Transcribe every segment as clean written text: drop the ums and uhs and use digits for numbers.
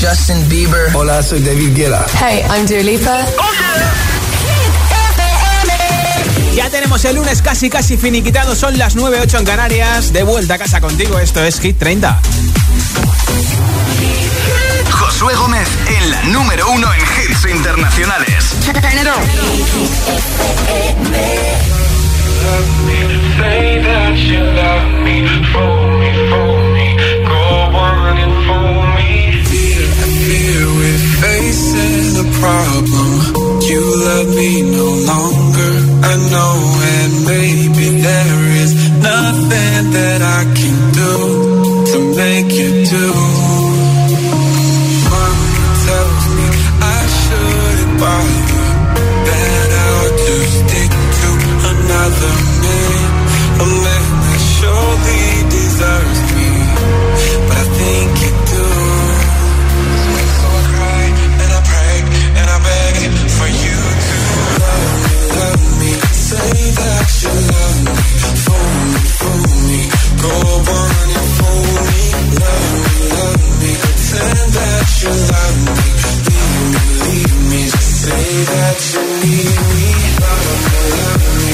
Justin Bieber. Hola, soy David Guetta. Hey, I'm Dua Lipa. Ya tenemos el lunes casi finiquitado, son las 9:08 en Canarias. De vuelta a casa contigo, esto es Hit 30. Josué Gómez en la número 1 en hits internacionales. Say that you love me, fool me, go on and fool me. I fear we're facing the problem. You love me no longer, I know, and maybe there is nothing that I can do to make you do. Mama tells me I shouldn't bother, that I ought to stick to another man, a man that surely deserves me, but I think you do. So I cry and I pray and I beg for you to love me, say that you love me, fool me, go on and fool me, love me, pretend that you love me, leave me, just say that you need me, love me.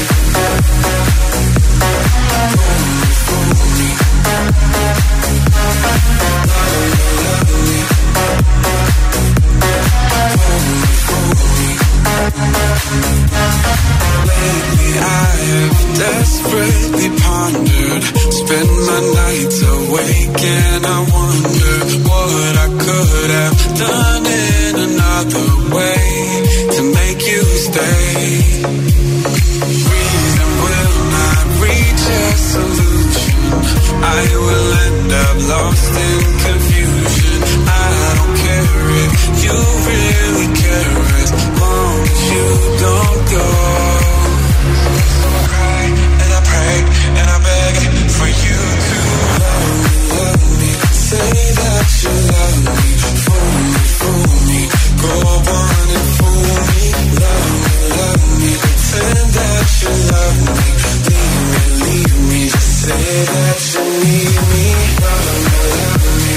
Lately I have desperately pondered, spend my nights awake and I wonder what I could have done in another way to make you stay. Reason will not reach a solution, I will end up lost in confusion. I don't care if you really care as long as you don't go. So I cry and I pray and I beg for you to love me, say that you love me, fool me, go on and fool me, love me, pretend that you love me, leave me, just say that you need me, love me.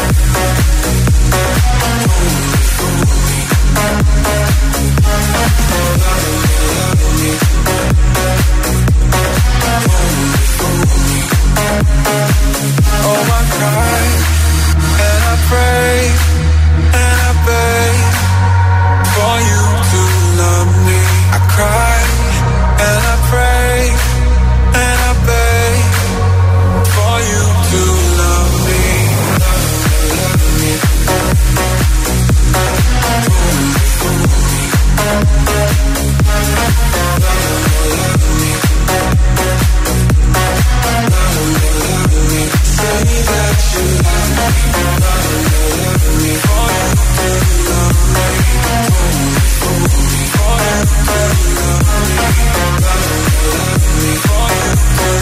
Oh, I cry and I pray and I beg for you to love me. I cry and I pray and I beg for you to love me. Love me. Say that you love me, for you to love me, for you to love me, for you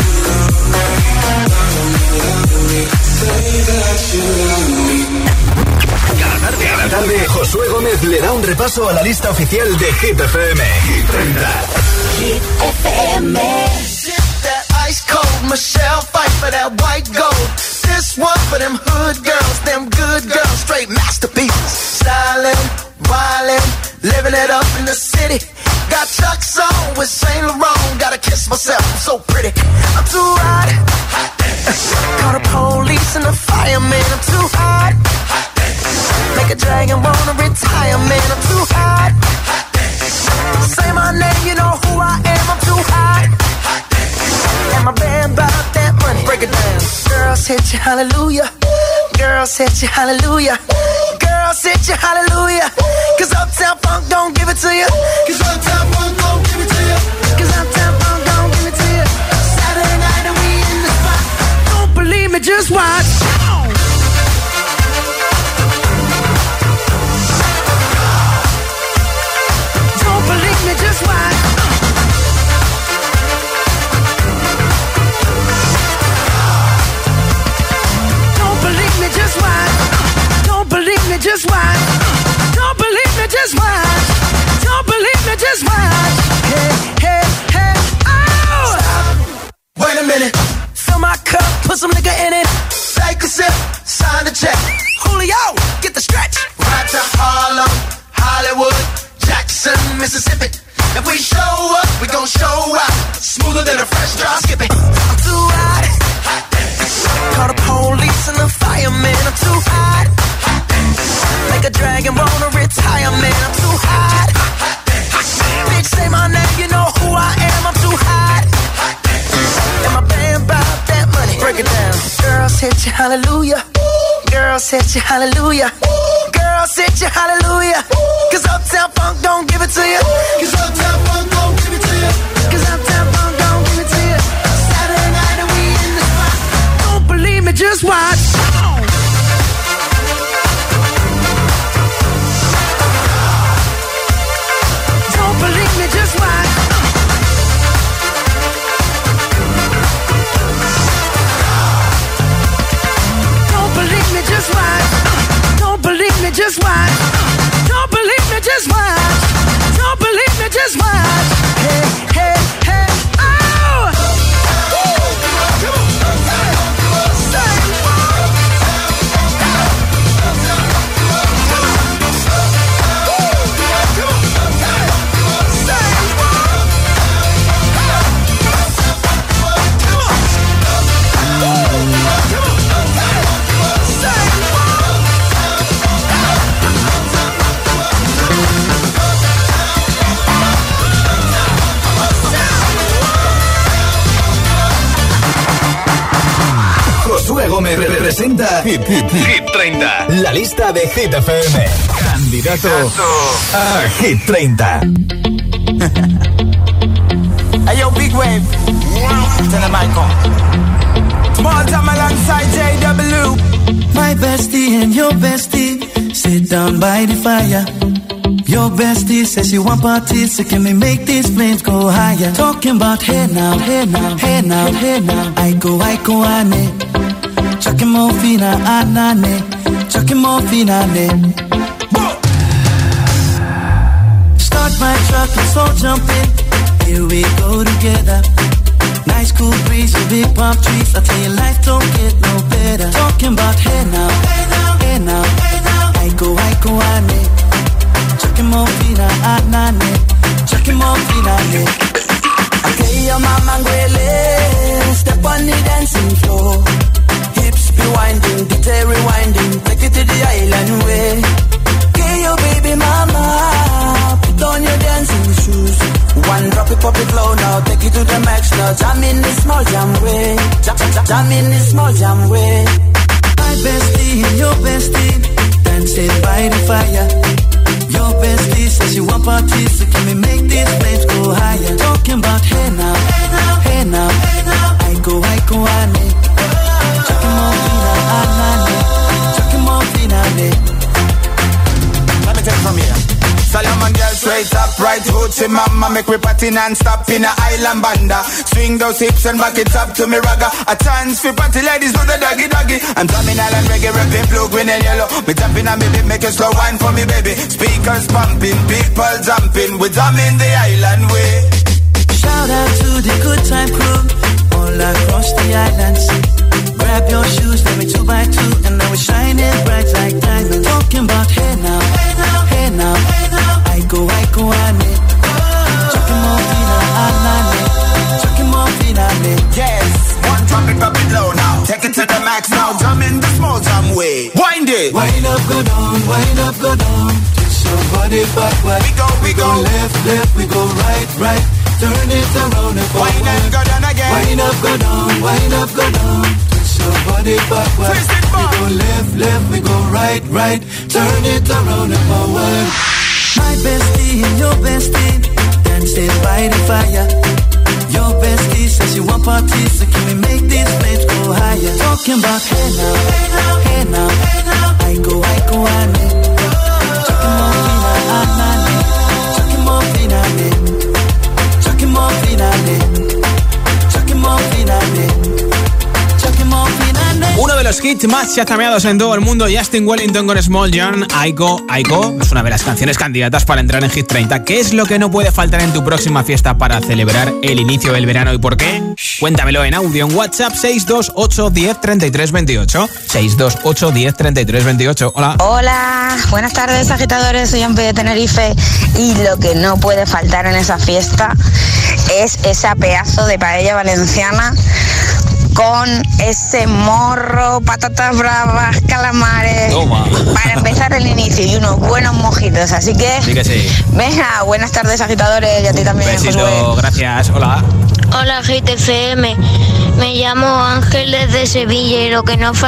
to love me, say that you love me. Cada tarde, Josué Gómez le da un repaso a la lista oficial de Hit FM. Hit 30. Hit FM. Ice cold Michelle fight for that white gold. This one for them hood girls, them good girls, straight masterpieces. Stylin', wildin', living it up in the city. Got Chuck's on with Saint Laurent. Gotta kiss myself, I'm so pretty. I'm too hot. Call the police and the fireman. I'm too hot. Make a dragon wanna retire, man. I'm too hot. Say my name, you know who I am. I'm too hot. And my band bought that money. Break it down. Girls hit you, hallelujah. Girls hit you, hallelujah. Girls hit you, hallelujah. Cause Uptown Funk don't give it to you. Cause Uptown Funk don't give it to you. Cause Uptown Funk don't give it to you. Saturday night and we in the spot. Don't believe me, just watch. Don't believe me, just watch. Just watch. Don't believe me, just watch. Don't believe me, just watch. Don't believe me, just watch. Hey, hey, hey, oh! Stop. Wait a minute. Fill my cup, put some nigga in it. Girls hit you hallelujah. Girls hit you hallelujah. Girls hit you hallelujah. Cause Uptown Funk don't give it to you. Cause Uptown Funk don't give it to you. Cause Uptown Funk don't give it to you. Saturday night and we in the spot. Don't believe me, just watch. Don't believe me, just watch. Don't believe me, just watch. Don't believe me, just watch. Don't believe me, just watch. Don't believe me, just watch. Hey, hey, hey, oh! Josué Gómez representa Hit 30, la lista de Hit FM. Candidato a Hit 30. Hey yo, Big Wave, turn the mic on. Small time alongside JW. My bestie and your bestie sit down by the fire. Your bestie says you want parties, so can we make these flames go higher? Talking about hey now, hey now, hey now, hey now. I go, ane. Chucking more fina, anane. Chucking more fina, ane. Start my truck and so jump in. Here we go together. Nice cool breeze with big palm trees. I tell you life don't get no better. Talking about hey now, hey now, hey now, hey now. I go, ane. Chucking more fina, anane. Chucking more fina, ane. Okay, your mama ngwele, step on the dancing floor. Hips be winding, detail rewinding, take it to the island way. Okay, your baby mama, put on your dancing shoes. One drop it, pop it low now, take it to the max now. Jam in the small jam way, jam in the small jam way. My bestie and your bestie dancing by the fire. Your bestie says you want parties, so can we make these flames go higher? Talking about hey now, hey now, hey now, hey now. I go, ane. Chucking more fina, anane. Chucking more fina, ane. Let me take it from here. Solomon girl straight up, right hoochie mama. Make we party non-stop in a island banda. Swing those hips and back it up to me ragga. A chance for party ladies do the doggy doggy. I'm drumming island reggae, rapping blue, green and yellow. Me jumping on me beat, make a slow wine for me baby. Speakers pumping, people jumping. We drumming the island way. Shout out to the good time crew all across the islands. Grab your shoes, let me 2x2, and now we're shining bright like diamonds. Talking about hey now, hey now, hey now, hey now. I go, ane. Chucking more fina, anane. Chucking more fina, ane. Yes, one drop it low now. Take it to the max now. Jump in the small jam way. Wind it. Wind up, go down, wind up, go down. Twist your body backward. We go left, left, we go right, right. Turn it around and forward. Wind up, go down again. Wind up, go down, wind up, go down. Twist your body backward. Twist it back. We go left, left, we go right, right. Turn it around and forward. My bestie and your bestie dancing by the fire. Your bestie says you want parties, so can we make these flames go higher? Talking about hey now, hey now, hey now, hey now. I go, ane. Chucking more fina, anane. Chucking more fina, ane. Chucking more fina, ane. Chucking more fina, ane. Chucking more fina, ane. Uno de los hits más chazameados en todo el mundo, Justin Wellington con Small John, Aiko, es una de las canciones candidatas para entrar en Hit 30. ¿Qué es lo que no puede faltar en tu próxima fiesta para celebrar el inicio del verano y por qué? Cuéntamelo en audio en WhatsApp 628 10 33 28. 628 10 33 28. Hola. Hola, buenas tardes agitadores, soy Ampe de Tenerife y lo que no puede faltar en esa fiesta es esa pedazo de paella valenciana con ese morro, patatas bravas, calamares. Toma. Para empezar el inicio y unos buenos mojitos. Así que, Sí que sí. venga, buenas tardes, agitadores, y a ti también, Besito, Josué. gracias. Hola. Hola GTFM, me llamo Ángel desde Sevilla y lo que no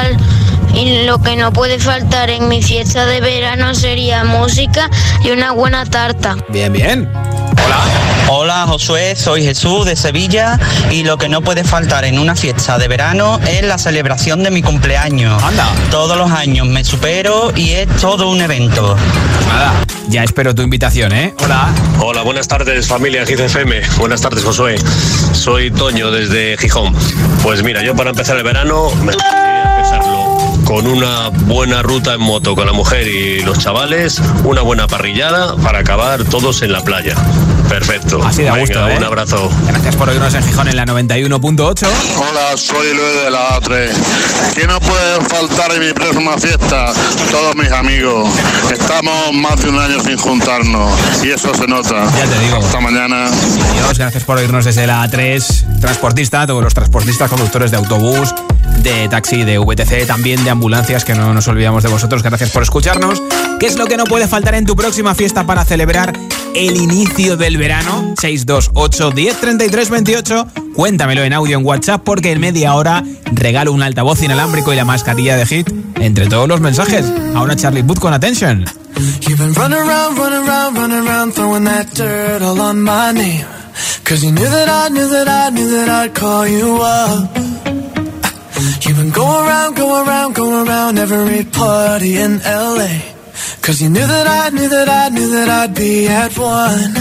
puede faltar en mi fiesta de verano sería música y una buena tarta. Bien, bien. Hola. Hola Josué, soy Jesús de Sevilla y lo que no puede faltar en una fiesta de verano es la celebración de mi cumpleaños. Anda. Todos los años me supero y es todo un evento. Pues nada, ya espero tu invitación, ¿eh? Hola. Hola, buenas tardes familia GTFM. Buenas tardes Josué. Soy Toño desde Gijón. Pues mira, yo para empezar el verano me gustaría empezarlo con una buena ruta en moto con la mujer y los chavales, una buena parrillada para acabar todos en la playa. Perfecto. Así de gusto, ¿eh? Un abrazo. Gracias por oírnos en Gijón en la 91.8. Hola, soy Luis de la A3. ¿Qué no puede faltar en mi próxima fiesta? Todos mis amigos. Estamos más de un año sin juntarnos y eso se nota. Ya te digo. Hasta mañana. Adiós, gracias por oírnos desde la A3. Transportista, todos los transportistas, conductores de autobús, de taxi, de VTC, también de ambulancias, que no nos olvidamos de vosotros. Gracias por escucharnos. ¿Qué es lo que no puede faltar en tu próxima fiesta para celebrar el inicio del verano? 628 10 33 28. Cuéntamelo en audio en WhatsApp, porque en media hora regalo un altavoz inalámbrico y la mascarilla de Hit entre todos los mensajes. Ahora Charlie Puth con Attention. You've been running around, throwing that dirt all on my name. Cause you knew that I'd call you up. You've been going around every party in LA. Cause you knew that I'd be at one.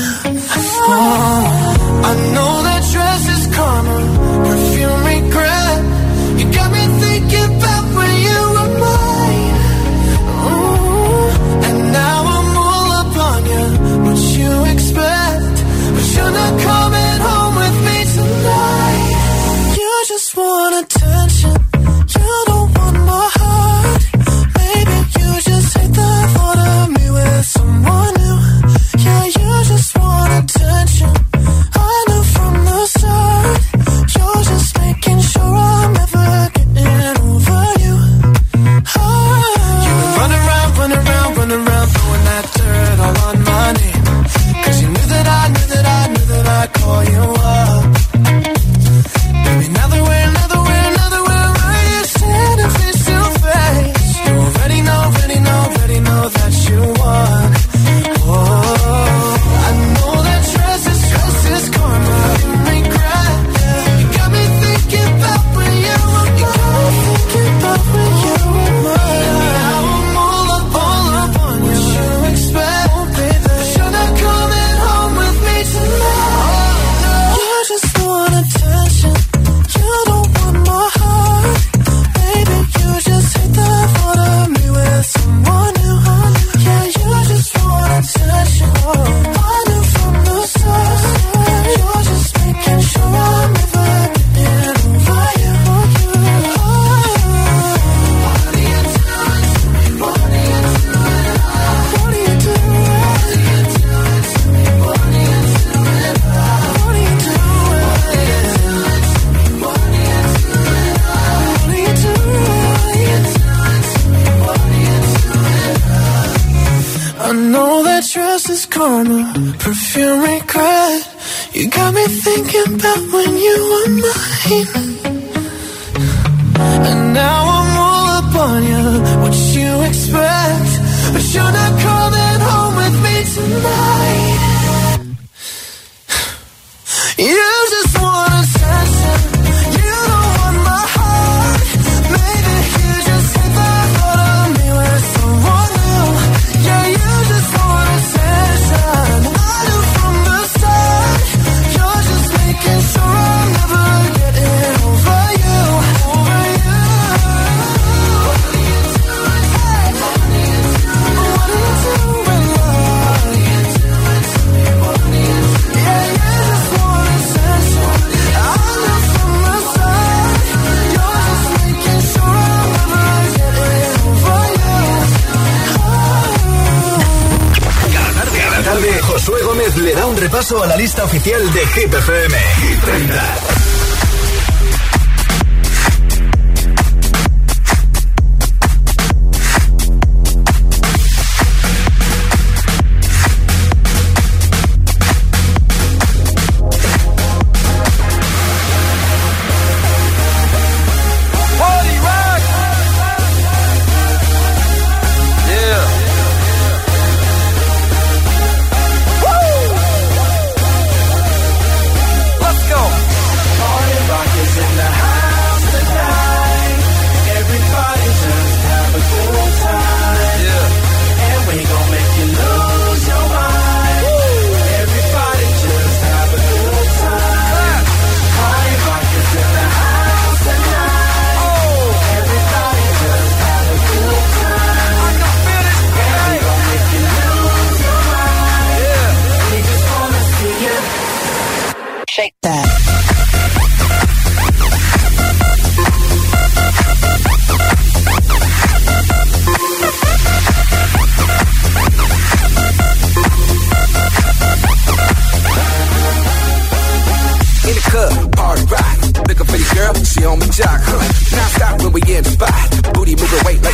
Oh, I know that dress is karma, perfume regret. You got me thinking about when you were mine. Ooh, and now I'm all up on you, what you expect. But you're not coming home with me tonight. You just want attention, you don't want my heart. Maybe you just hate the thought of me with someone new. Yeah, you just want attention, I knew from the start. You're just making sure I'm never getting over you. Oh. You were running around, throwing that dirt all on my name. Cause you knew that I'd call you up. Baby, now that we're right here standing face to face, you already know that you won. Oh, I know that stress is karma, regret. You got me thinking about when you were mine. Now I'm all up on you. What you expect, baby? But you're not coming home with me tonight. You just want attention, you don't want my heart. Baby, you just hate the thought of me with someone new. Yeah, you just want attention, I knew from the start. You're just making sure I'm never getting over you. What are you doing? What are you doing? What are you I know that trust is karma, perfume regret. You got me thinking about when you were mine. And now I'm all up on you, what you expect. But you're not coming home with me tonight. You just want attention, you don't want my heart. Maybe you just hate the thought of me with someone new. Yeah, you just want attention, I knew from the start. You're just making sure I'm never getting over you. What are you doing, love? Yeah, you just want attention, I knew from the start. You're just making sure I'm never getting over you. Cada tarde, Josué Gómez le da un repaso a la lista oficial de Hit FM. Hit 30.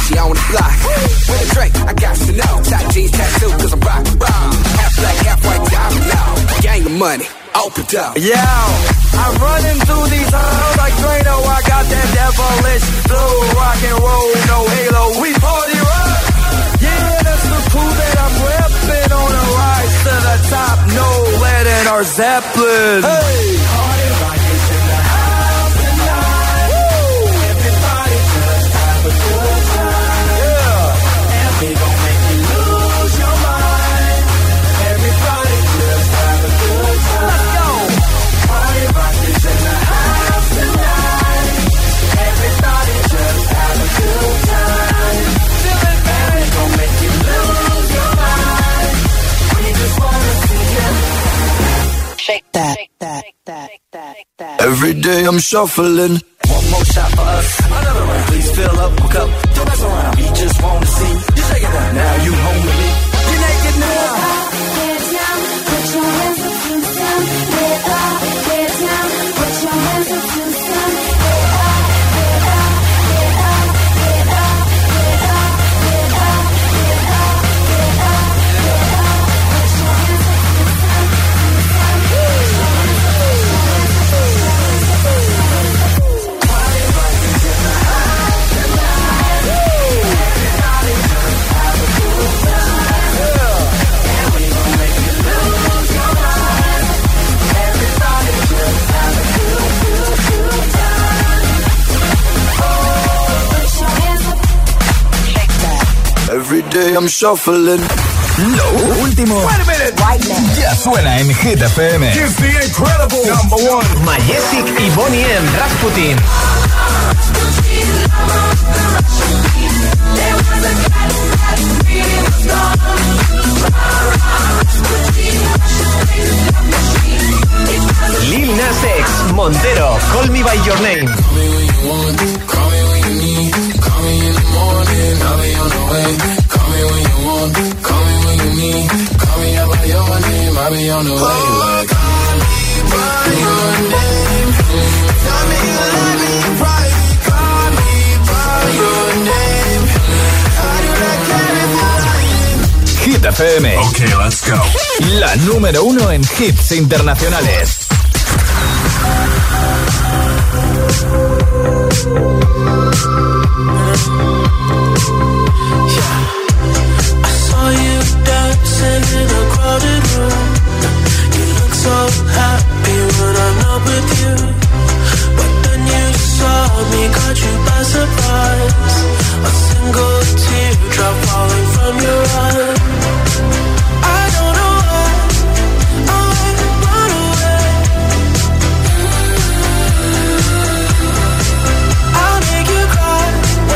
Gucci on the block. With a drink, I got to know. Tight jeans, tattoo, cause I'm rock. Half black, half white, diamond now. Gang of money, open up. Yo, I'm running through these halls like Drano. I got that devilish flow. Rock and roll, no halo. We party rock. Yeah, that's the crew that I'm repping on a rise to the top. No lead in our Zeppelin. Hey, party rock is in the house tonight. Woo. Everybody just have a good time. Yeah, and we gon' make you lose your mind. Everybody just have a good time. Let's go. Party rock is in the house tonight. Everybody just have a good time. Feeling bad, we gon' make you lose your mind. We just wanna see you shake that, shake that, shake that, shake that, shake that. Every day I'm shuffling. One more shot for us, another round. Please fill up a cup, don't mess around. We just wanna see you shake it down. Now you home with me. You naked now. Get down, put your hands up to the sun. Get up, get down, put your hands up to the sun. Get up, get up, get up, get up, get up, get up, get up, get up, get up. Put your hands up to the sun. Every day I'm shuffling. Lo último ya suena en Hit FM. It's the incredible #1 Majestic y Bonnie M. Rasputin. Lil Nas X, Montero, Call Me By Your Name. Call me when you need, call me in the morning, I'll be on the way. Call me when you want, call me when you need, call me out by your name, I'll be on the way. Call me by your name, tell me you love me right. Call me by your name, how do I care if you're lying? Hit FM. Okay, let's go. La número 1 en hits internacionales. I saw you dancing in a crowded room. You look so happy when I'm not with you. But then you saw me, caught you by surprise. A single teardrop falling from your eye. I don't know why I run away. I'll make you cry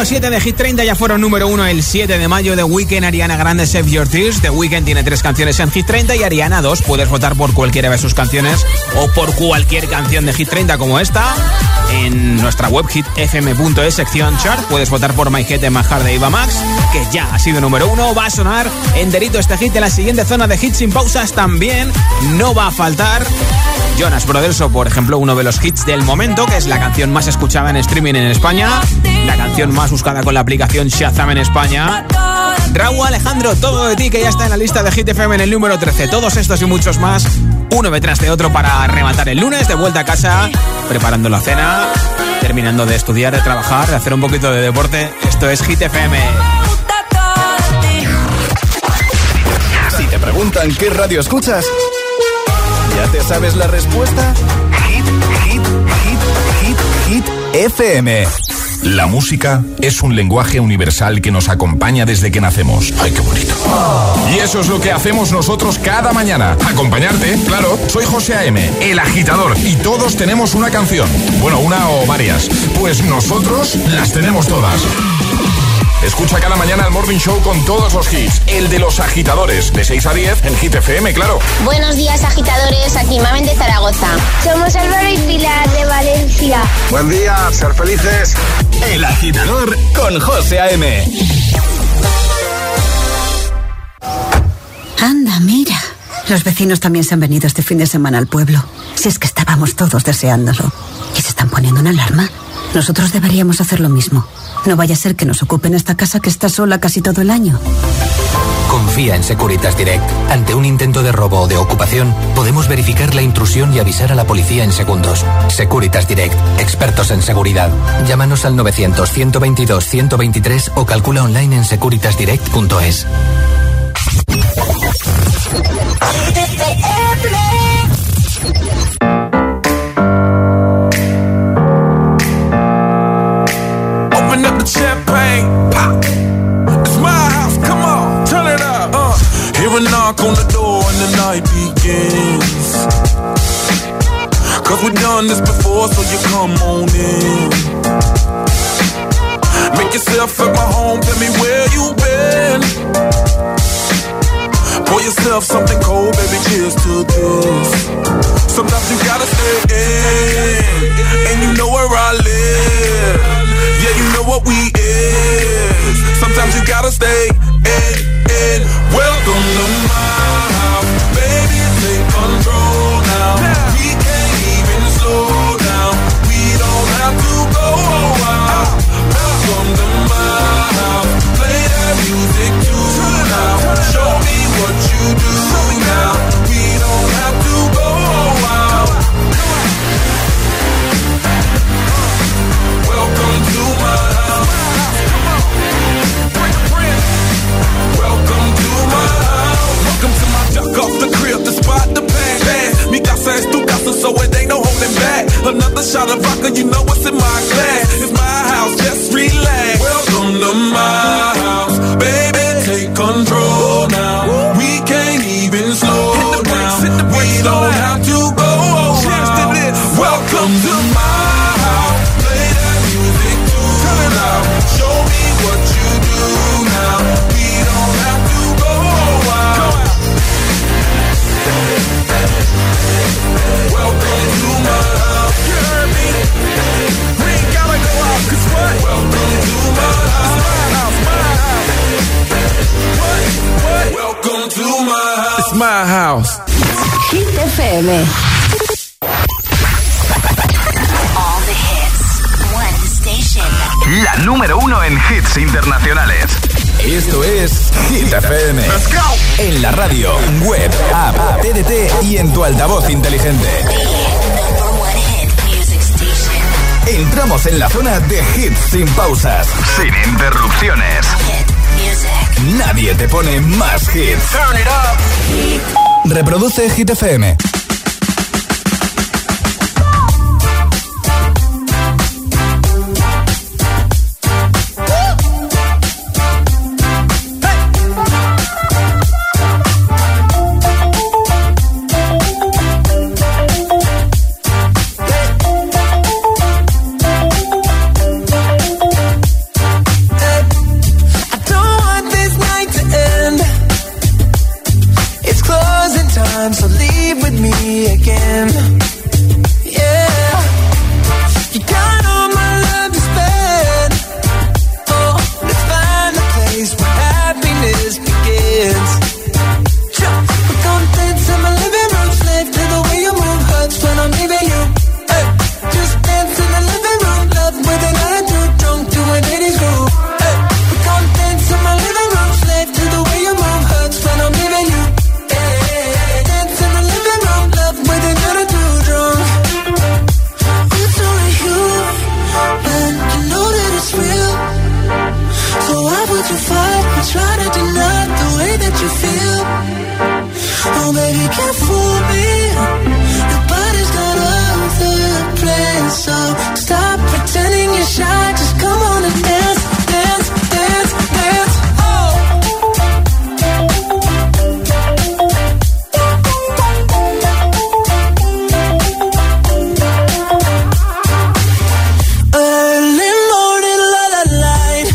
7 de Hit 30 ya fueron número 1 el 7 de mayo. The Weeknd, Ariana Grande, Save Your Tears. The Weeknd tiene 3 canciones en Hit 30 y Ariana 2. Puedes votar por cualquiera de sus canciones o por cualquier canción de Hit 30 como esta. En nuestra web hitfm.es, sección chart, puedes votar por My Head de Mahar de Eva Max, que ya ha sido número 1. Va a sonar enterito este hit en la siguiente zona de hits sin pausas. También no va a faltar Jonas Brothers o, por ejemplo, uno de los hits del momento, que es la canción más escuchada en streaming en España, la canción más buscada con la aplicación Shazam en España. Raúl Alejandro, Todo de ti, que ya está en la lista de Hit FM en el número 13. Todos estos y muchos más, uno detrás de otro, para rematar el lunes, de vuelta a casa, preparando la cena, terminando de estudiar, de trabajar, de hacer un poquito de deporte. Esto es Hit FM. Si te preguntan qué radio escuchas, ¿ya te sabes la respuesta? Hit FM. La música es un lenguaje universal que nos acompaña desde que nacemos. ¡Ay, qué bonito! Y eso es lo que hacemos nosotros cada mañana. Acompañarte, claro. Soy José A.M., el agitador, y todos tenemos una canción. Bueno, una o varias. Pues nosotros las tenemos todas. Escucha cada mañana el Morning Show con todos los hits. El de los agitadores, de 6 a 10 en Hit FM, claro. Buenos días, agitadores. Aquí Mamen de Zaragoza. Somos Álvaro y Pilar de Valencia. Buen día, ser felices. El agitador con José A.M. Anda, mira. Los vecinos también se han venido este fin de semana al pueblo. Si es que estábamos todos deseándolo. ¿Y se están poniendo una alarma? Nosotros deberíamos hacer lo mismo. No vaya a ser que nos ocupen esta casa que está sola casi todo el año. Confía en Securitas Direct. Ante un intento de robo o de ocupación, podemos verificar la intrusión y avisar a la policía en segundos. Securitas Direct, expertos en seguridad. Llámanos al 900-122-123 o calcula online en securitasdirect.es. Open up the champagne, pop. It's my house, come on, turn it up. Hear a knock on the door and the night begins. Cause we've done this before, so you come on in. Make yourself at my home, tell me where you been. Pour yourself something cold, baby, cheers to this. Sometimes you gotta stay in, and you know where I live. Yeah, you know what we is. Sometimes you gotta stay in. Welcome to my house, baby, take control now. We can't even slow down, we don't have to go out. Welcome to my house, play that music too loud. Show me what you do now, we don't have to go out. Welcome to my house. Welcome to my house. Welcome to my duck off the crib, the spot, the pan. Mi casa es tu casa, so it ain't no holding back. Another shot of vodka, you know what's in my glass. It's my house, just relax. Welcome to my house, baby, take control now. We can't even slow down. We don't have to go around. Welcome to my house. Play that music too loud. Show me what you do now. We don't have to go out. Welcome to my house. You heard me? We ain't gotta go out, 'cause what? Welcome to my house. What? Welcome to my house. It's my house. Hit FM. All the hits, one station. La número 1 en hits internacionales. Esto es Hit FM. Let's go. En la radio, web, app, TDT y en tu altavoz inteligente. Entramos en la zona de hits sin pausas, sin interrupciones. Nadie te pone más hits. Turn it up. Reproduce Hit FM. time, so leave with me again. Yeah, you got all my love to spend. Oh, let's find a place where happiness begins. We're gonna dance in my living room, slave to the way you move, hurts when I'm leaving you. Hey, just dance in the living room, love with an attitude, drunk to a ladies' groove. Hey, we're gonna dance in my living room, slave to the way you move, hurts when I'm leaving you. Hey, dance in the living room, love with an attitude, drunk. It's only you, and you know that it's real. So why would you fight or try to deny the way that you feel? Oh baby, can't fool me. Your body's got other plans, so stop pretending you're shy. Just come on and dance, dance, dance, dance. Oh. Early morning, la la light.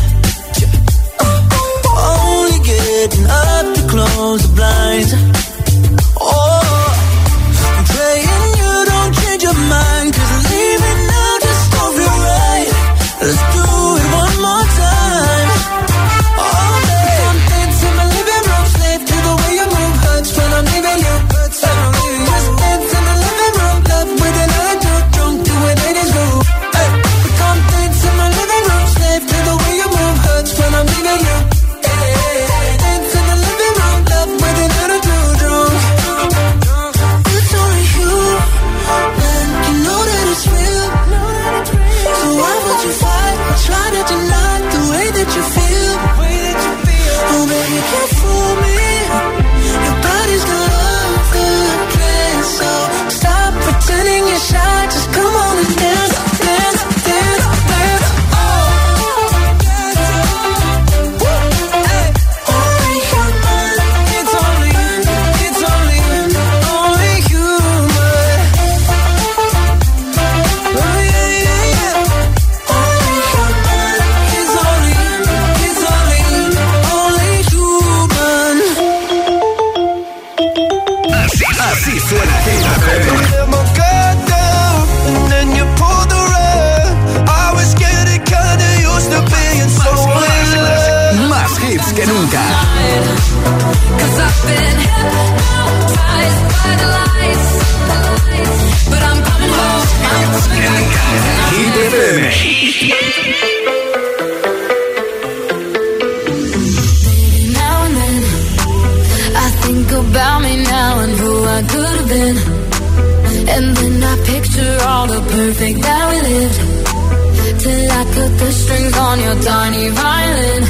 Only getting up to close the blinds. Oh, I'm praying you don't change your mind, 'cause leaving now just don't feel right. Let's do it one more time. Oh, baby, I'm dancing in my living room, slave to the way you move, hurts when I'm leaving you. Just dance in the living room, love with an attitude, drunk to a ladies' groove. Hey, come dance in my living room, slave to the way you move, hurts when I'm leaving you. Hey, dance in the living room, love with an attitude, drunk. It's only you, and you know that it's real. So why would you fight or try to deny the way that you feel? Oh baby, you can't fool me. Your body's got other plans, so stop pretending you're shy. Just come on and dance, dance, dance, dance. Oh, hey, only human. It's only human. Oh yeah, yeah, yeah. Only human. It's only human. Así suena Hit FM. Let my guard down, and then you pulled the rug. I was getting kinda used to being so in love. Más hits que nunca. 'Cause I've been hypnotized by the lights, but I'm coming home. Hit FM. Now and then I think about me now and who I could have been, and then I picture all the perfect that we lived, till I cut the strings on your tiny violin.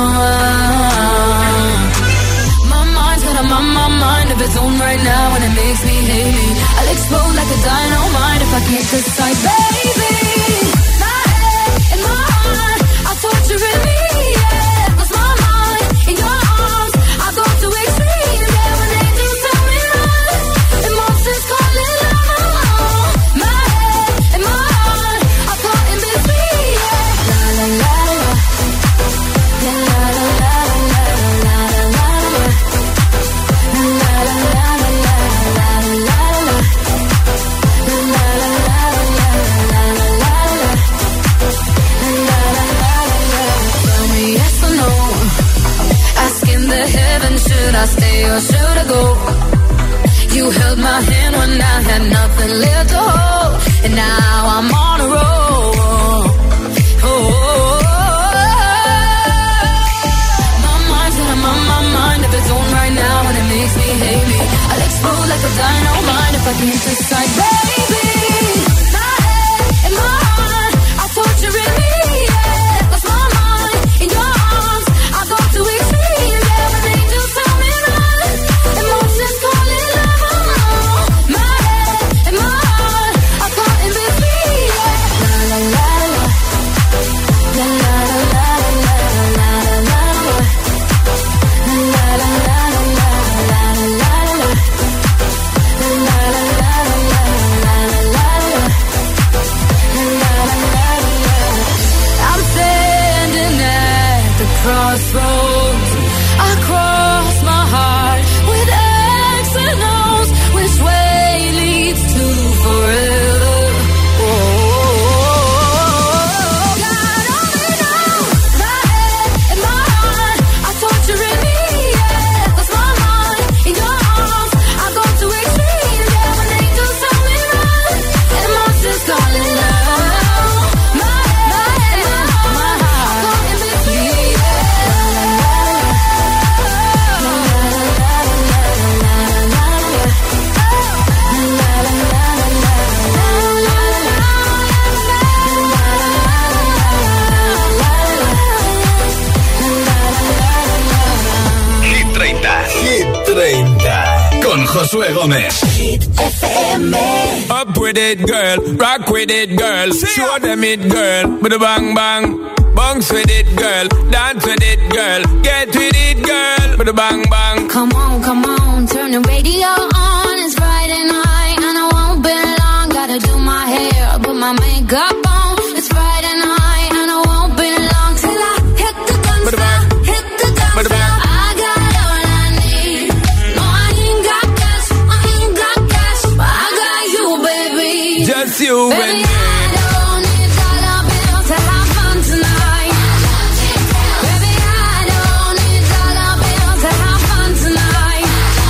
My mind's got a mind of its own right now, and it makes me hate me. I'll explode like a dynamite if I can't decide, baby. My head and my heart are torturing me, yeah. 'Cause my mind in your arms, I go to extremes, yeah. When they do tell me run, emotions calling love. My head and my heart are caught in between, yeah. La la la la, la la la la la la la la. Should I stay or should I go? You held my hand when I had nothing left to hold, and now I'm on a roll. My mind's got my mind of its own right now, and it makes me hate me. I'll explode like a dynamite if I can't decide, baby. My head and my heart are torturing me, yeah. 'Cause my mind in your arms, I go to extremes, yeah. When they do tell me run, emotions calling love. My head and my heart are caught in between, yeah. La la la la, la la la la la la la. La la la la la la la la. La la la la la. 30 con Josué Gómez. Hit FM. Up with it, girl. Rock with it, girl. Show them it, girl. With a bang bang. Bounce with it, girl. Dance with it, girl. Get with it, girl. With a bang bang. Come on, turn the radio on. It's Friday night and I won't be long. Gotta do my hair, put my makeup on. It's Friday night and I won't be long till I hit the guns down, hit the guns down. I got all I need. No, I ain't got cash, but I got you, baby. Just you baby, and me. I don't need dollar bills to have fun tonight. Baby, I don't need dollar bills to have fun tonight.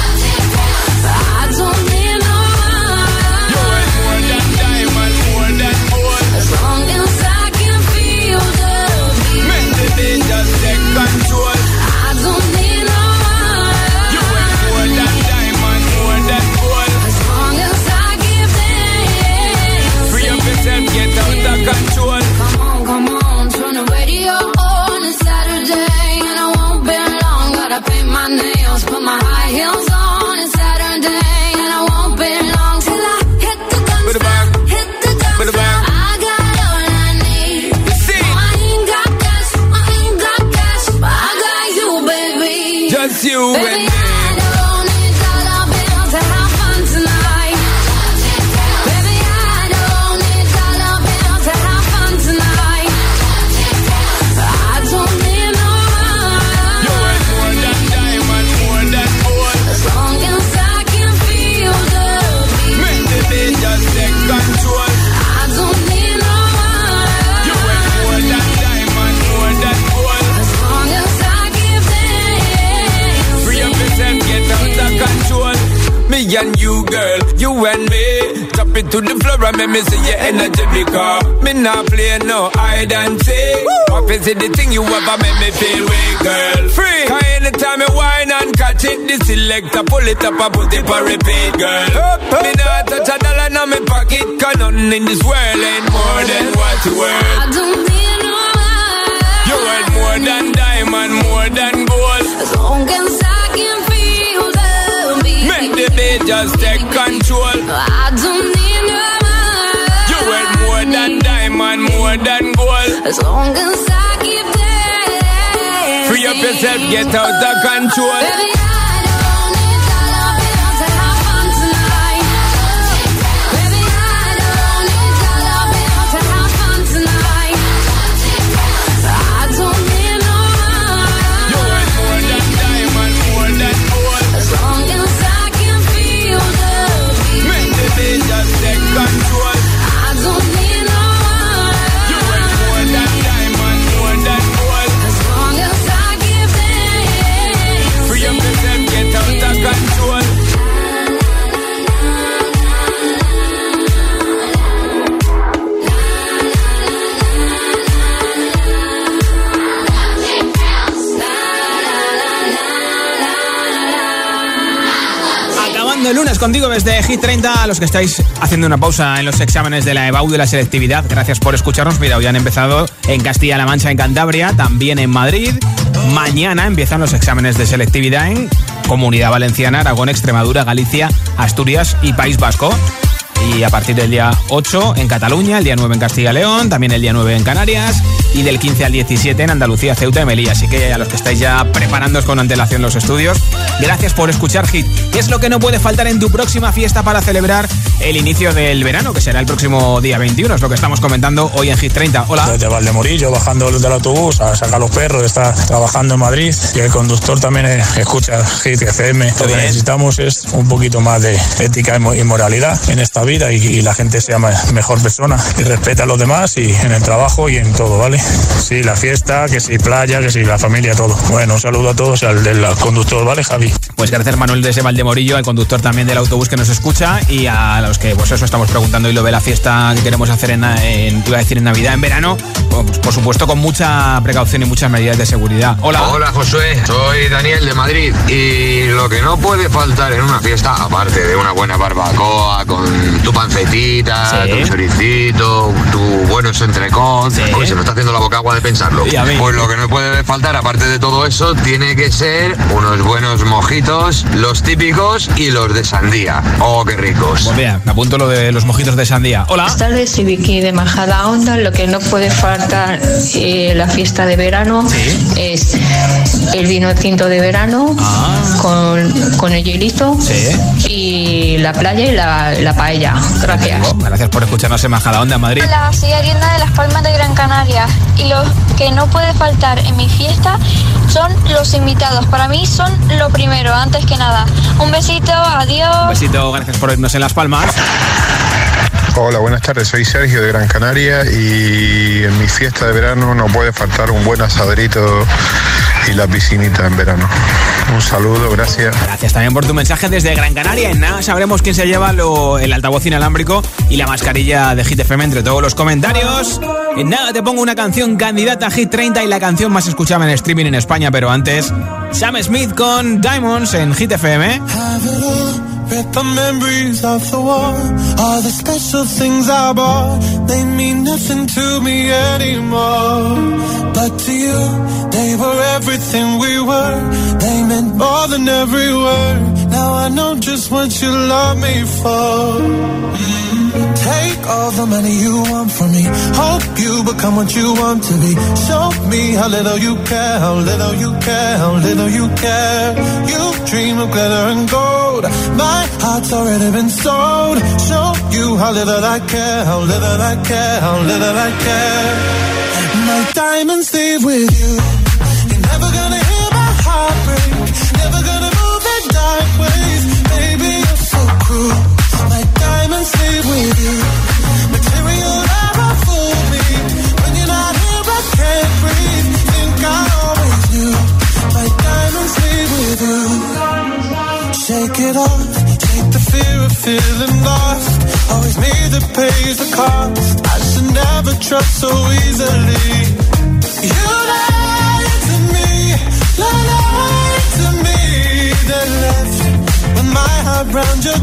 I don't need no money. You ain't more than diamond, more than gold. As long as I can feel the beat. Make the beat just take control. I don't need no money. You ain't more than diamond, more than gold. As long as I give them. Free up yourself, get out of control. Come on, turn the radio on. It's Saturday and I won't be long. Gotta paint my nails, put my high heels on. It's Saturday and I won't be long till I hit the guns down, hit the guns down. I got all I need. No, I ain't got cash, but I got you, baby. Just you Baby, and me. I don't need dollar bills to have fun tonight. Baby, I don't need dollar bills to have fun tonight. I don't need no You money. ain't more than diamond, more than gold. As long as I can feel the beat. Make the beat just take control. I don't need no You ain't money. more than diamond, more than gold. As long as I give them. Free up yourself, get out of control. Me and you, girl, you and me. Drop it to the floor and make me see your energy because me not play no hide and seek. What is it the thing you ever make me feel weak, girl? Free. Cause anytime you whine and catch it, the selector pull it up and put it for repeat, girl. Me not touch a dollar in my pocket, cause nothing in this world ain't more than what you worth. I don't need no money. You worth more than diamond, more than gold. As long as I can feel the beat. Make the beat just take control. I don't need no money. You worth more than diamond, more than gold. As long as I give them. Free up yourself, get out of control. Baby, I don't need dollar bills to have fun tonight. Baby, I don't need dollar bills to have fun tonight. I don't need no You money. worth more than diamond, more than gold. As long as I can feel the beat. Make the beat just take control. I don't need no You money. worth more than diamond, more than gold. As long as I give them. Free up yourself, get out of control. Acabando el lunes contigo desde Hit 30, a los que estáis haciendo una pausa en los exámenes de la EBAU de la selectividad, gracias por escucharnos. Mira, hoy han empezado en Castilla-La Mancha, en Cantabria, también en Madrid. Mañana empiezan los exámenes de selectividad en Comunidad Valenciana, Aragón, Extremadura, Galicia, Asturias y País Vasco. Y a partir del día 8 en Cataluña, el día 9 en Castilla y León, también el día 9 en Canarias y del 15 al 17 en Andalucía, Ceuta y Melilla. Así que a los que estáis ya preparándoos con antelación los estudios, gracias por escuchar Hit. ¿Qué es lo que no puede faltar en tu próxima fiesta para celebrar el inicio del verano, que será el próximo día 21? Es lo que estamos comentando hoy en Hit 30. Hola. Desde Valdemorillo, bajando del autobús a sacar los perros, está trabajando en Madrid y el conductor también escucha Hit FM. Lo que necesitamos es un poquito más de ética y moralidad en esta vida y la gente sea mejor persona y respeta a los demás y en el trabajo y en todo, ¿vale? Sí, la fiesta, que sí, playa, que sí, la familia, todo. Bueno, un saludo a todos y al del conductor, ¿vale, Javi? Pues gracias, Manuel, desde Valdemorillo, al conductor también del autobús que nos escucha y a los que, pues eso, estamos preguntando y lo de la fiesta que queremos hacer en Navidad, en verano, pues, por supuesto con mucha precaución y muchas medidas de seguridad. Hola. Hola, Josué, soy Daniel de Madrid y lo que no puede faltar en una fiesta, aparte de una buena barbacoa con tu pancetita, Sí. tu choricito, tu buenos entrecot. Sí. Uy, se me está haciendo la boca agua de pensarlo. Y a mí. Pues lo que no puede faltar, aparte de todo eso, tiene que ser unos buenos mojitos, los típicos y los de sandía. ¡Oh, qué ricos! Pues mira, me apunto lo de los mojitos de sandía. Hola. Buenas tardes, soy Vicky de Majadahonda. Lo que no puede faltar la fiesta de verano es el vino tinto de verano con el hielito y la playa y la paella. Gracias. Gracias por escucharnos en Majadahonda, en Madrid. Hola, soy Arienda de Las Palmas de Gran Canaria y lo que no puede faltar en mi fiesta son los invitados. Para mí son lo primero, antes que nada. Un besito, adiós. Un besito, gracias por irnos en Las Palmas. Hola, buenas tardes, soy Sergio de Gran Canaria y en mi fiesta de verano no puede faltar un buen asadrito y la piscinita en verano. Un saludo, gracias. Gracias también por tu mensaje desde Gran Canaria. En nada sabremos quién se lleva el altavoz inalámbrico y la mascarilla de Hit FM entre todos los comentarios. En nada te pongo una canción candidata a Hit 30 y la canción más escuchada en streaming en España, pero antes, Sam Smith con Diamonds en Hit FM. Read the memories of the war. All the special things I bought, they mean nothing to me anymore. But to you, they were everything we were. They meant more than every word. Now I know just what you love me for. Take all the money you want from me. Hope you become what you want to be. Show me how little you care, how little you care, how little you care. You dream of glitter and gold. My heart's already been sold. Show you how little I care, how little I care, how little I care. My diamonds leave with you. You're never gonna hear my heart break. Never gonna move in dark ways. Baby, you're so cruel. My diamonds leave with you. Material never fooled me. When you're not here, I can't breathe. Think I always knew. My diamonds leave with you. Shake it off. Take the fear of feeling lost. Always me that pays the cost. I should never trust so easily. You lied to me. Lied to me. Then left with my heart round your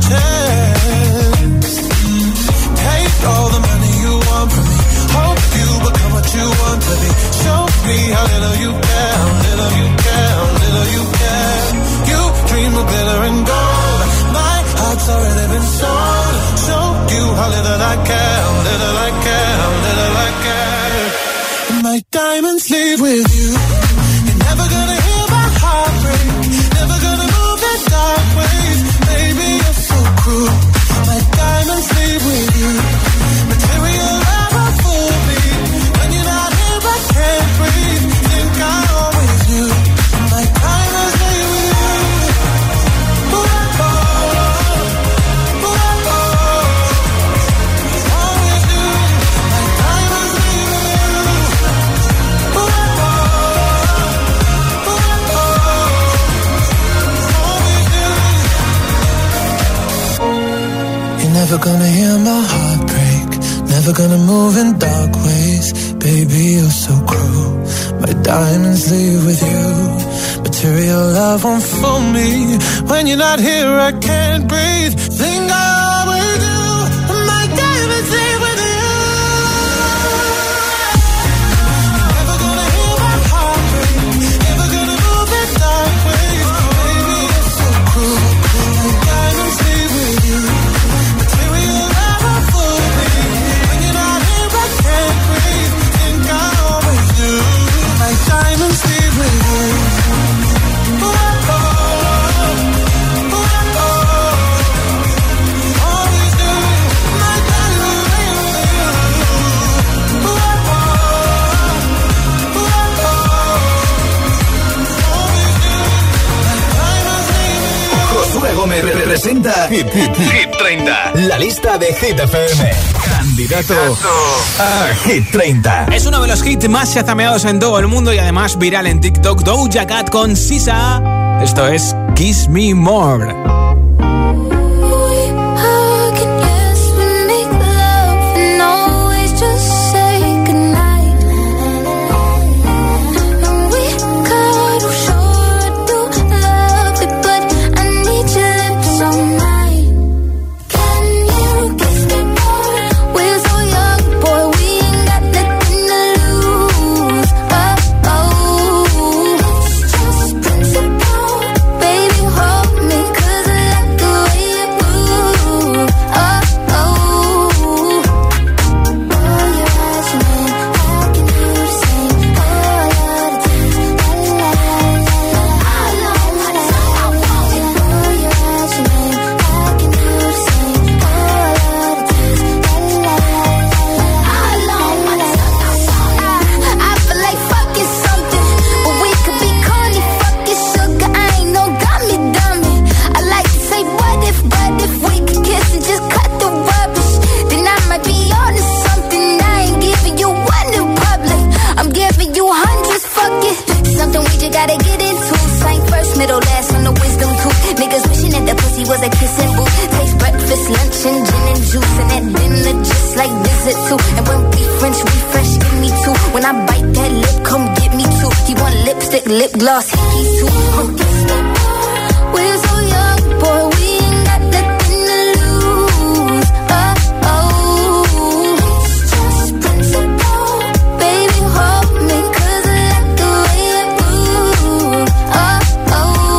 chest. Take all the money you want from me. Hope you become what you want to be. Show me how little you care, how little you care, how little you care. You dream of glitter and gold. My heart's already been sold. Show you how little I care, how little I care, how little I care. And my diamonds leave with you. You're never gonna hear my heart break. Never gonna move in dark ways. Baby, you're so cruel. My diamonds leave with you. Material never fooled me. When you're not here, I can't breathe. Think I always knew. My diamonds leave with you. Ooh, oh, ooh, oh, always knew. My diamonds leave with you. Ooh, oh, always knew. You're never gonna hear my heart break. Never gonna move in dark ways. Baby, you're so cruel. My diamonds leave with you. Material love won't fool me. When you're not here, I can't breathe. Think I always do. My diamonds leave with you. Never gonna hear my heart break. Never gonna move in dark ways. Baby, you're so cruel. My diamonds leave with you. Material never fooled me. When you're not here, I can't breathe. Think I always do. My diamonds leave with you. Ooh, oh, ooh, oh, always do. My diamonds leave with you. Ooh, oh, always do. My diamonds leave with you. Josué Gómez representa Hit 30, la lista de Hit FM. Candidato a Hit 30. Es uno de los hits más chazameados en todo el mundo y además viral en TikTok. Doja Cat con Sisa. Esto es Kiss Me More. Can you like visit too. And when we French refresh, give me two. When I bite that lip, come get me two. He want lipstick, lip gloss, hickeys too. We're so young, boy, we ain't got nothing to lose. Oh, oh. It's just principle. Baby, hold me, 'cause I like the way you move. Oh, oh.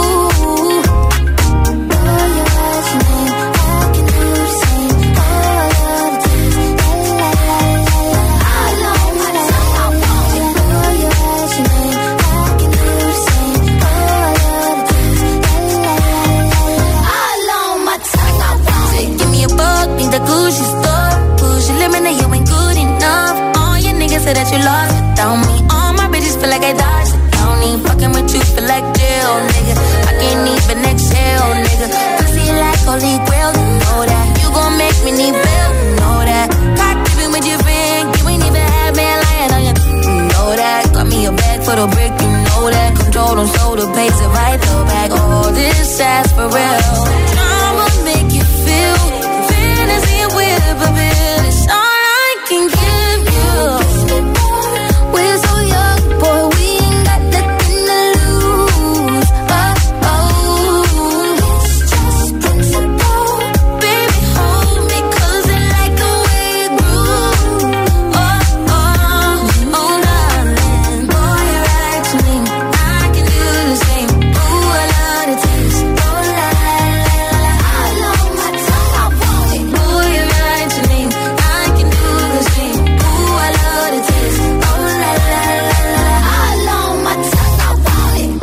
Oh, your last name, I can do the same. Oh, I love this. La, la, la, la, la. I love my tongue, I want it. Oh, your last name, I can do the same. Oh, I love this. La, la, la, la, la. I love my tongue, I want it. Give me a bug, need the Gucci store. Push your limit, you ain't good enough. All your niggas say that you lost without me. All my bitches feel like I dodged the county. Fucking with you feel like jail, nigga. I can't even exhale, nigga. Pussy like holy grail, you know that. You gon' make me need bail, you know that. Cock dipping with your friend, you ain't even have man lying on you. You know that. Got me a bag for the brick, you know that. Control them, so the pace it right though back. All this ass for real. I'ma make you feel fantasy with a bill. It's all I can give you. We're so young, boy, we ain't got nothing to lose. Oh, oh. It's just principle. Baby, hold me, 'cause I like the way you groove. Oh, oh, oh, darling. Boy, you're right to me. I can do the same. Ooh, I love the taste. Oh, la, la, la, la. I love my tongue, I want it. Boy, you're right to me. I can do the same. Ooh, I love the taste. Oh, la, la, la, la. I love my tongue, I want it.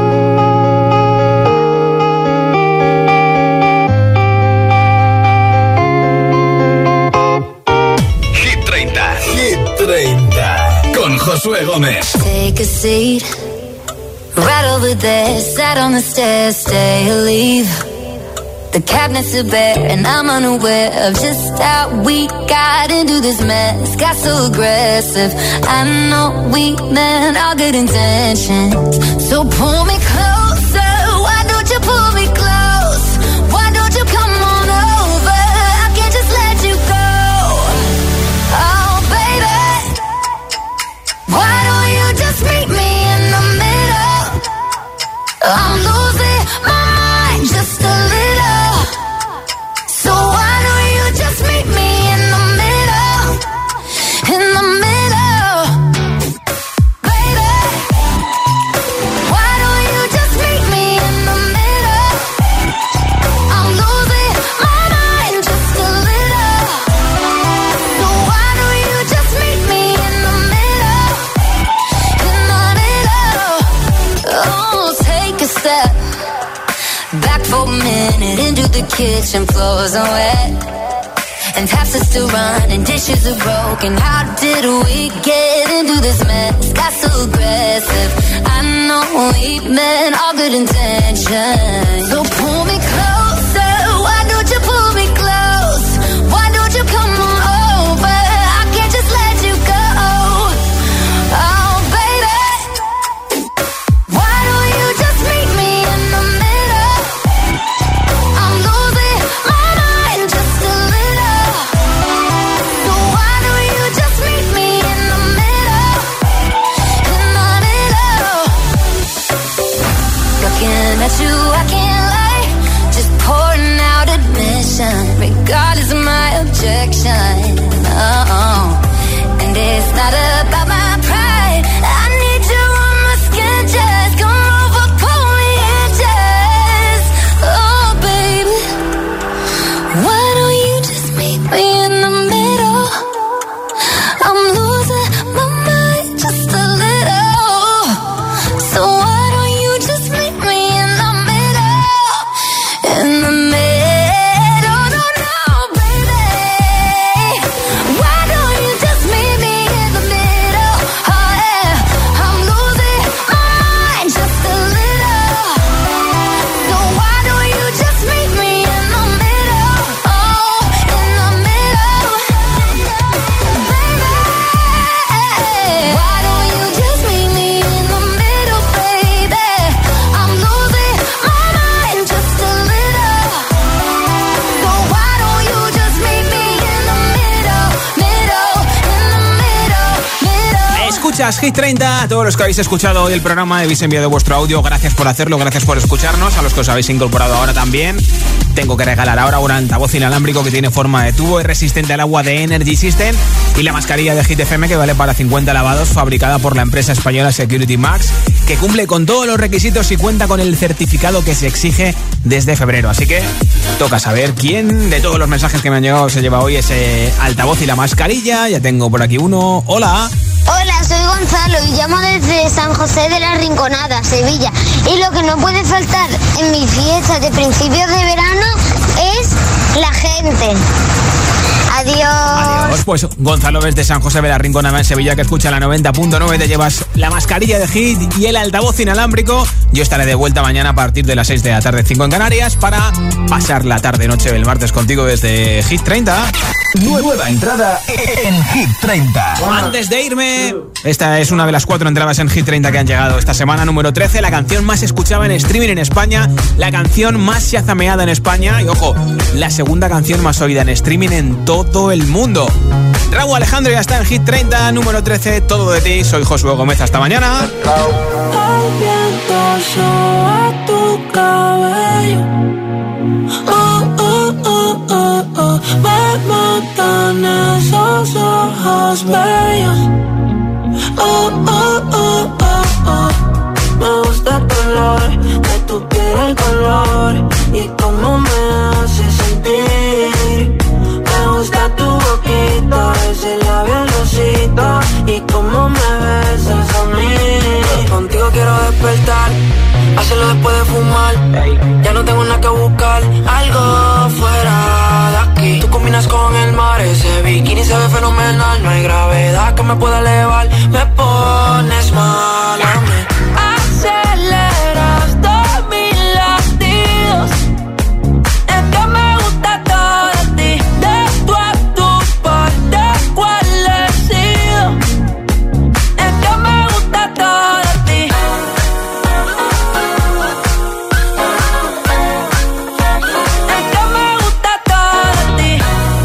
Hit 30. Hit 30. Con Josué Gómez. Take a seat, right over there. Sat on the stairs, stay or leave. The cabinets are bare, and I'm unaware of just how we got into this mess. Got so aggressive. I know we meant all good intentions. So pull me closer. Why don't you pull me close? Why don't you come on over? I can't just let you go. Oh, baby. Why don't you just meet me in the middle? I'm losing my mind just a little. So why don't you just meet me in the middle? In the middle. Baby, why don't you just meet me in the middle? I'm losing my mind just a little. So why don't you just meet me in the middle? In the middle. Oh, take a step back for a minute into the kitchen, floors are wet, and taps are still running, dishes are broken. How did we get into this mess? Got so aggressive. I know we meant all good intentions. So pull me closer. Why don't you pull me close? Why don't you come on over? I can't just let you go. Oh, baby. Why don't you just meet me in the middle? I'm losing my mind just a little. So why don't you just meet me in the middle? In the middle. Looking at you, I can't lie. Just pouring out admission, regardless of my objection. Oh, and it's not about my pride. I need you on my skin, just come over, pull me in, just. Oh, baby, why don't you just meet me in the middle? I'm losing my mind just a little. So why don't you just meet me in the middle? In the middle, no, no, baby. Why don't you just meet me in the middle? días, Hit 30. A todos los que habéis escuchado hoy el programa, habéis enviado vuestro audio. Gracias por hacerlo, gracias por escucharnos. A los que os habéis incorporado ahora también, tengo que regalar ahora un altavoz inalámbrico que tiene forma de tubo, es resistente al agua de Energy System, y la mascarilla de Hit FM que vale para 50 lavados, fabricada por la empresa española Security Max, que cumple con todos los requisitos y cuenta con el certificado que se exige desde febrero. Así que toca saber quién de todos los mensajes que me han llegado se lleva hoy ese altavoz y la mascarilla. Ya tengo por aquí uno. Hola. Hola, soy Gonzalo y llamo desde San José de la Rinconada, Sevilla. Y lo que no puede faltar en mi fiesta de principios de verano es la gente. Adiós. Adiós. Pues Gonzalo desde San José de la Rinconada en Sevilla, que escucha la 90.9, te llevas la mascarilla de Hit y el altavoz inalámbrico. Yo estaré de vuelta mañana a partir de las 6 de la tarde, 5 en Canarias, para pasar la tarde-noche del martes contigo desde Hit 30. Nueva entrada en Hit 30. Antes de irme, esta es una de las 4 entradas en Hit 30 que han llegado esta semana. Número 13, la canción más escuchada en streaming en España, la canción más shazameada en España y, ojo, la segunda canción más oída en streaming en todo el mundo. Raúl Alejandro ya está en Hit 30, número 13, Todo de ti. Soy Josué Gómez, hasta mañana. El viento soba tu cabello. Me matan esos ojos bellos. Me gusta el color de tu piel, el color y cómo me hace sentir. Me gusta tu boquita, ese labial rosita y cómo me besas a mí. Contigo quiero despertar, hacerlo después de fumar. Ya no tengo nada que buscar, algo fuera de aquí. Tú combinas con el mar, ese bikini se ve fenomenal. No hay gravedad que me pueda elevar, me pones mal a mí. Aceleras todos mis latidos, es que me gusta todo de ti. De tú a tu parte, ¿cuál he sido? Es que me gusta todo de ti. Es que me gusta todo de ti.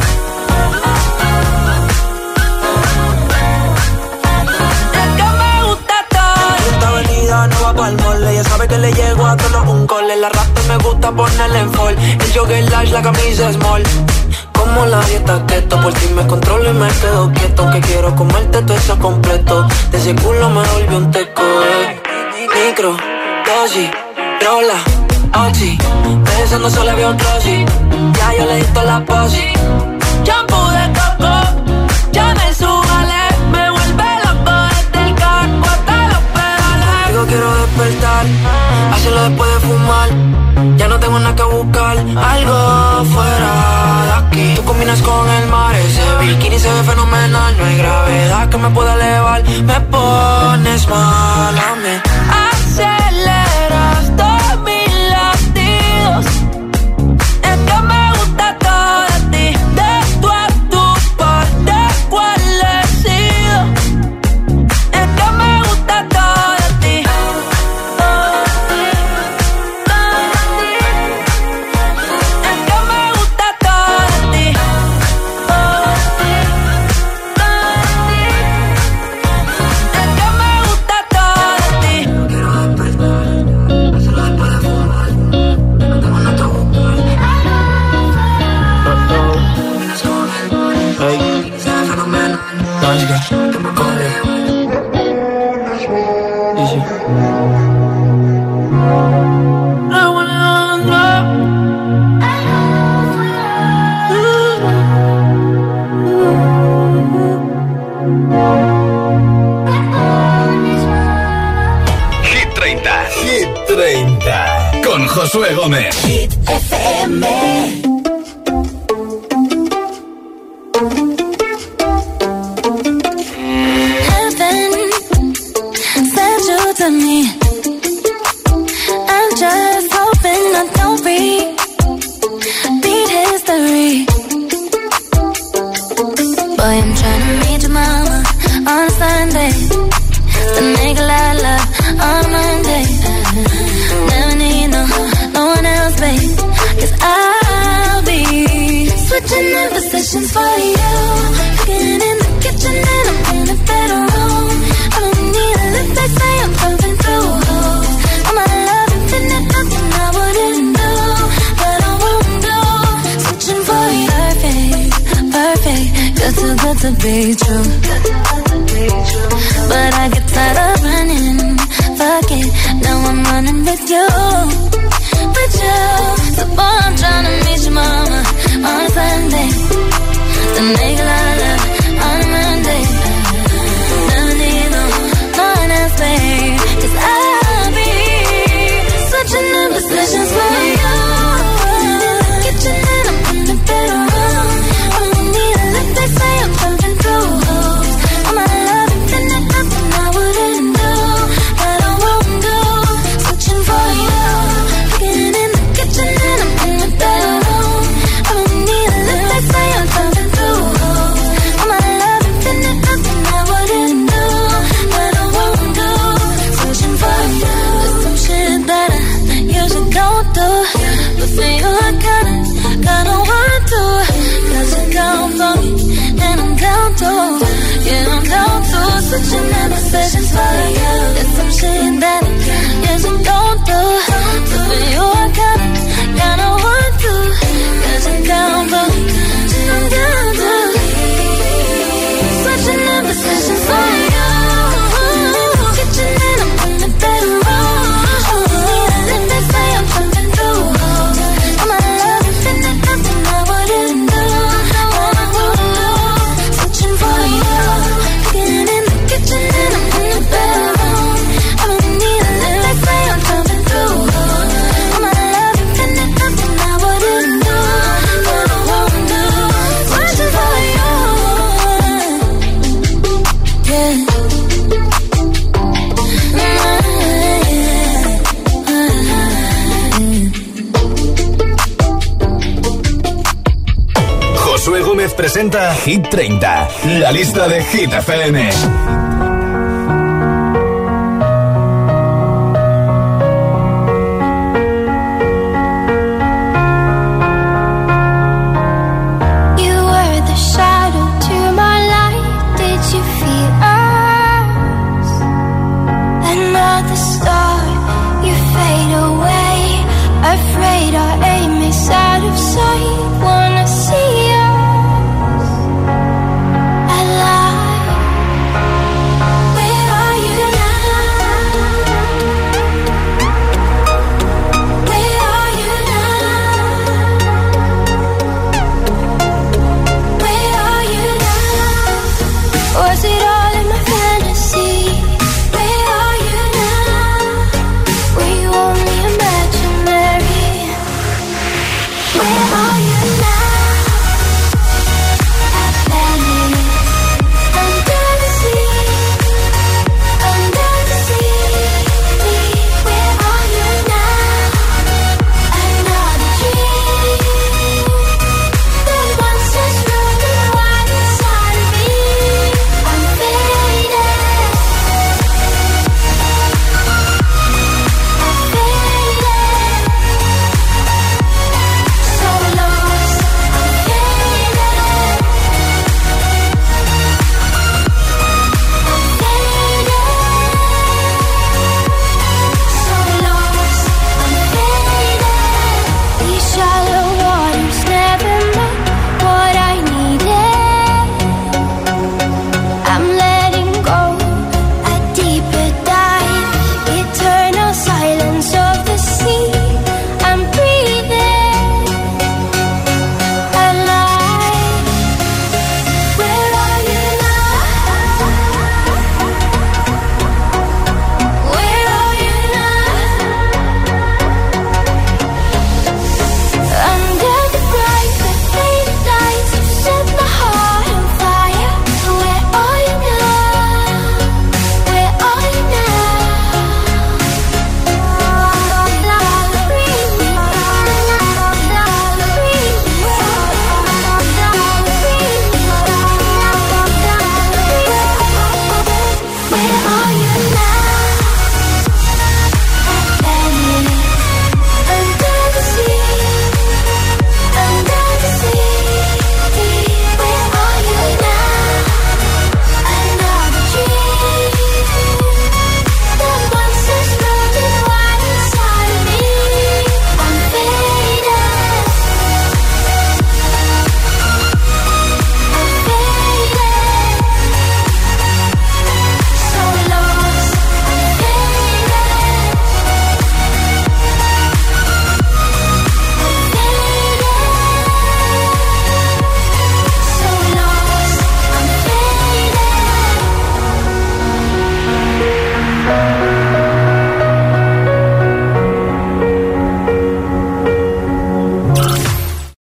Es que me gusta todo. Esta avenida no va pa'l mole, ella sabe que le llego a todos un cole. La rata me gusta ponerle en fall, el jogger large, la camisa small. Como la dieta keto, por ti me controlo y me quedo quieto. Que quiero comerte todo eso completo, de ese culo me volvió un teco. Micro, dosis, rola, oxi, besando solo había un rosy. Ya yo le di toda la posi. Shampoo de coco, ya me súbale, me vuelve loco desde el casco hasta los pedales. Digo quiero despertar, hacerlo después de fumar. Ya no tengo nada que buscar, algo fuera de aquí. Tú combinas con el mar, ese bikini se ve fenomenal. No hay gravedad que me pueda elevar, me pones mal a mí. Aceleras todos mis latidos, es que me gusta todo de ti. De tú a tu parte, ¿cuál he sido? Es que me gusta todo de ti. Es que me gusta todo de ti. Es que me gusta todo de ti. Quiero despertar, hacerlo después de fumar. No tengo nada que buscar. Comienzas con el mar, se ve fenomenal. Que me corre. Hit 30. Hit 30. Con Josué Gómez. Hit FM. Heaven sent you to me. I'm just hoping I don't repeat history. Boy, I'm trying to meet your mama on Sunday, to make a lot of love on Monday. Never need no one else, babe, 'cause I good to be true. But I get tired of running. Fuck it, now I'm running with you. With you. So boy, I'm trying to meet your mama on Sunday. To make a lot of love on a Monday. Never need no one else, babe. 'Cause I'll be switching in positions for you. Kitchen and I'm in the bedroom. I don't need a lift, they say I'm jumping through hoops. All my love infinite, nothing I wouldn't do, that I won't do. Switching for you. Getting in the kitchen and I'm in the bedroom. I don't need a lift, they say I'm jumping through hoops. All my love infinite, nothing I wouldn't do, that I won't do. Switching for you. There's some shit that I usually go through, but for you I gotta want to. 'Cause you're down for me, and I'm down to. Yeah, I'm down to. Switching in positions for you. There's some shit that I usually go through, but for you I gotta want to. 'Cause you're down for me, and I'm down to. Switching in positions for you. Kitchen and I'm in the bedroom. They say I'm jumping through holes. All my love infinite, nothing I wouldn't do, what I won't do. Switching for you. Getting in the kitchen and I'm in the bedroom. I don't need a lift, they say I'm jumping through holes. All my love infinite, nothing I wouldn't do, what I won't do. Switching for you. Yeah. Josué Gómez presenta Hit 30, la lista de Hit FM. Shall